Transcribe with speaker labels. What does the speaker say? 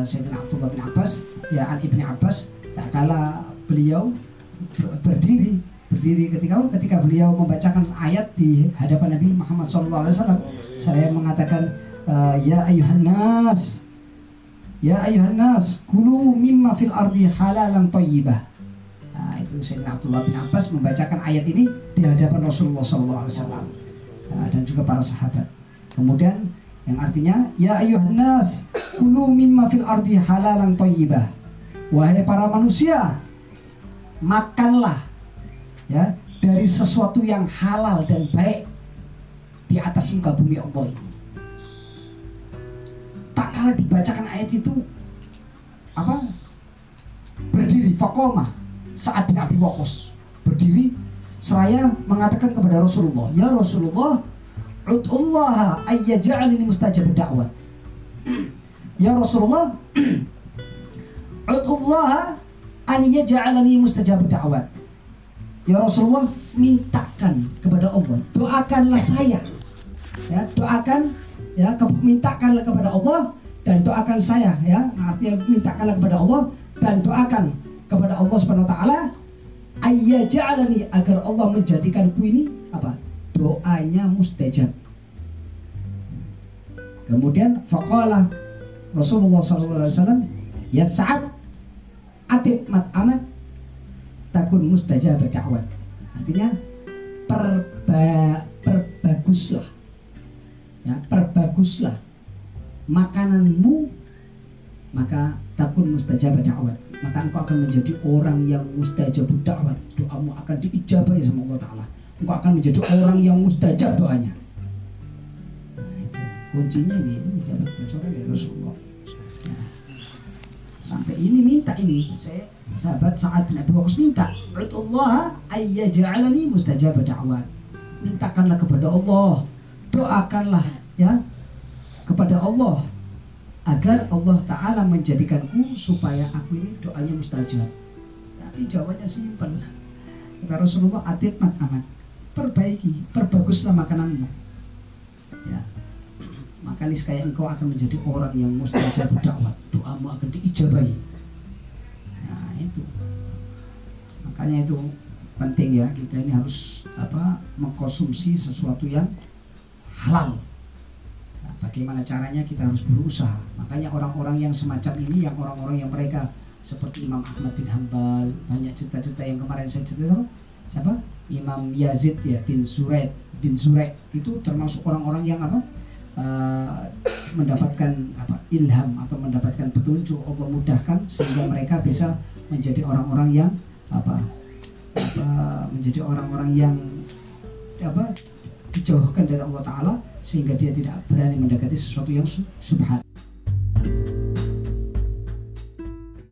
Speaker 1: Sayyidina Abdullah bin Abbas, ya an Ibni Abbas, tak kala beliau berdiri ketika beliau membacakan ayat di hadapan Nabi Muhammad SAW. Saya mengatakan, ya ayuhan nas, kulu mimma fil ardi halalan thayyibah. Nah, itu Sayyidina Abdullah bin Abbas membacakan ayat ini di hadapan Rasulullah SAW dan juga para sahabat. Kemudian yang artinya, ya ayuhan nas, kulu mimma fil ardi halalan thayyibah. Wahai para manusia, makanlah ya dari sesuatu yang halal dan baik di atas muka bumi Allah ini. Tak kala dibacakan ayat itu, berdiri faqoma Sa'ad bin Abi Waqqas, berdiri seraya mengatakan kepada Rasulullah, ya Rasulullah, ud'ullaha ayyaj'alni mustajab da'wat. Ya Rasulullah, ud'ullaha an yaj'alani mustajab da'wat. Ya Rasulullah, mintakan kepada Allah, doakanlah saya, ya, mintakanlah kepada Allah dan doakan saya, ya, artinya mintakanlah kepada Allah dan doakan kepada Allah Subhanahu wa taala, ayyaj'alani, agar Allah menjadikanku ini doanya mustajab. Kemudian faqala Rasulullah SAW, ya Sa'ad, atib mat'amat takun mustajab da'wat. Artinya perbaguslah, ya, perbaguslah makananmu, maka takun mustajab da'wat, maka engkau akan menjadi orang yang mustajab da'wat. Doamu akan diijabahi sama Allah Ta'ala. Engkau akan menjadi orang yang mustajab doanya. Nah, itu kuncinya ini jabat bocoran dari Rasulullah. Nah, sampai ini minta ini, sahabat Sa'ad bin Abi Waqqas minta, ud'ullaha ayyaj'alani mustajab da'wat. Mintakanlah kepada Allah, doakanlah ya kepada Allah agar Allah Ta'ala menjadikanku supaya aku ini doanya mustajab. Tapi jawabannya simpel. Kata Rasulullah, atib mat'amat, perbaguslah makananmu, ya, maka niscaya engkau akan menjadi orang yang mustajab da'wat, doamu akan diijabahi. Nah itu, makanya itu penting ya, kita ini harus mengkonsumsi sesuatu yang halal. Nah, bagaimana caranya? Kita harus berusaha. Makanya orang-orang yang semacam ini, yang orang-orang yang mereka seperti Imam Ahmad bin Hanbal, banyak cerita-cerita yang kemarin saya cerita, siapa? Imam Yazid ya bin Zurai itu termasuk orang-orang yang mendapatkan ilham atau mendapatkan petunjuk, Allah mudahkan sehingga mereka bisa menjadi orang-orang yang menjadi orang-orang yang dijauhkan dari Allah Ta'ala, sehingga dia tidak berani mendekati sesuatu yang subhat.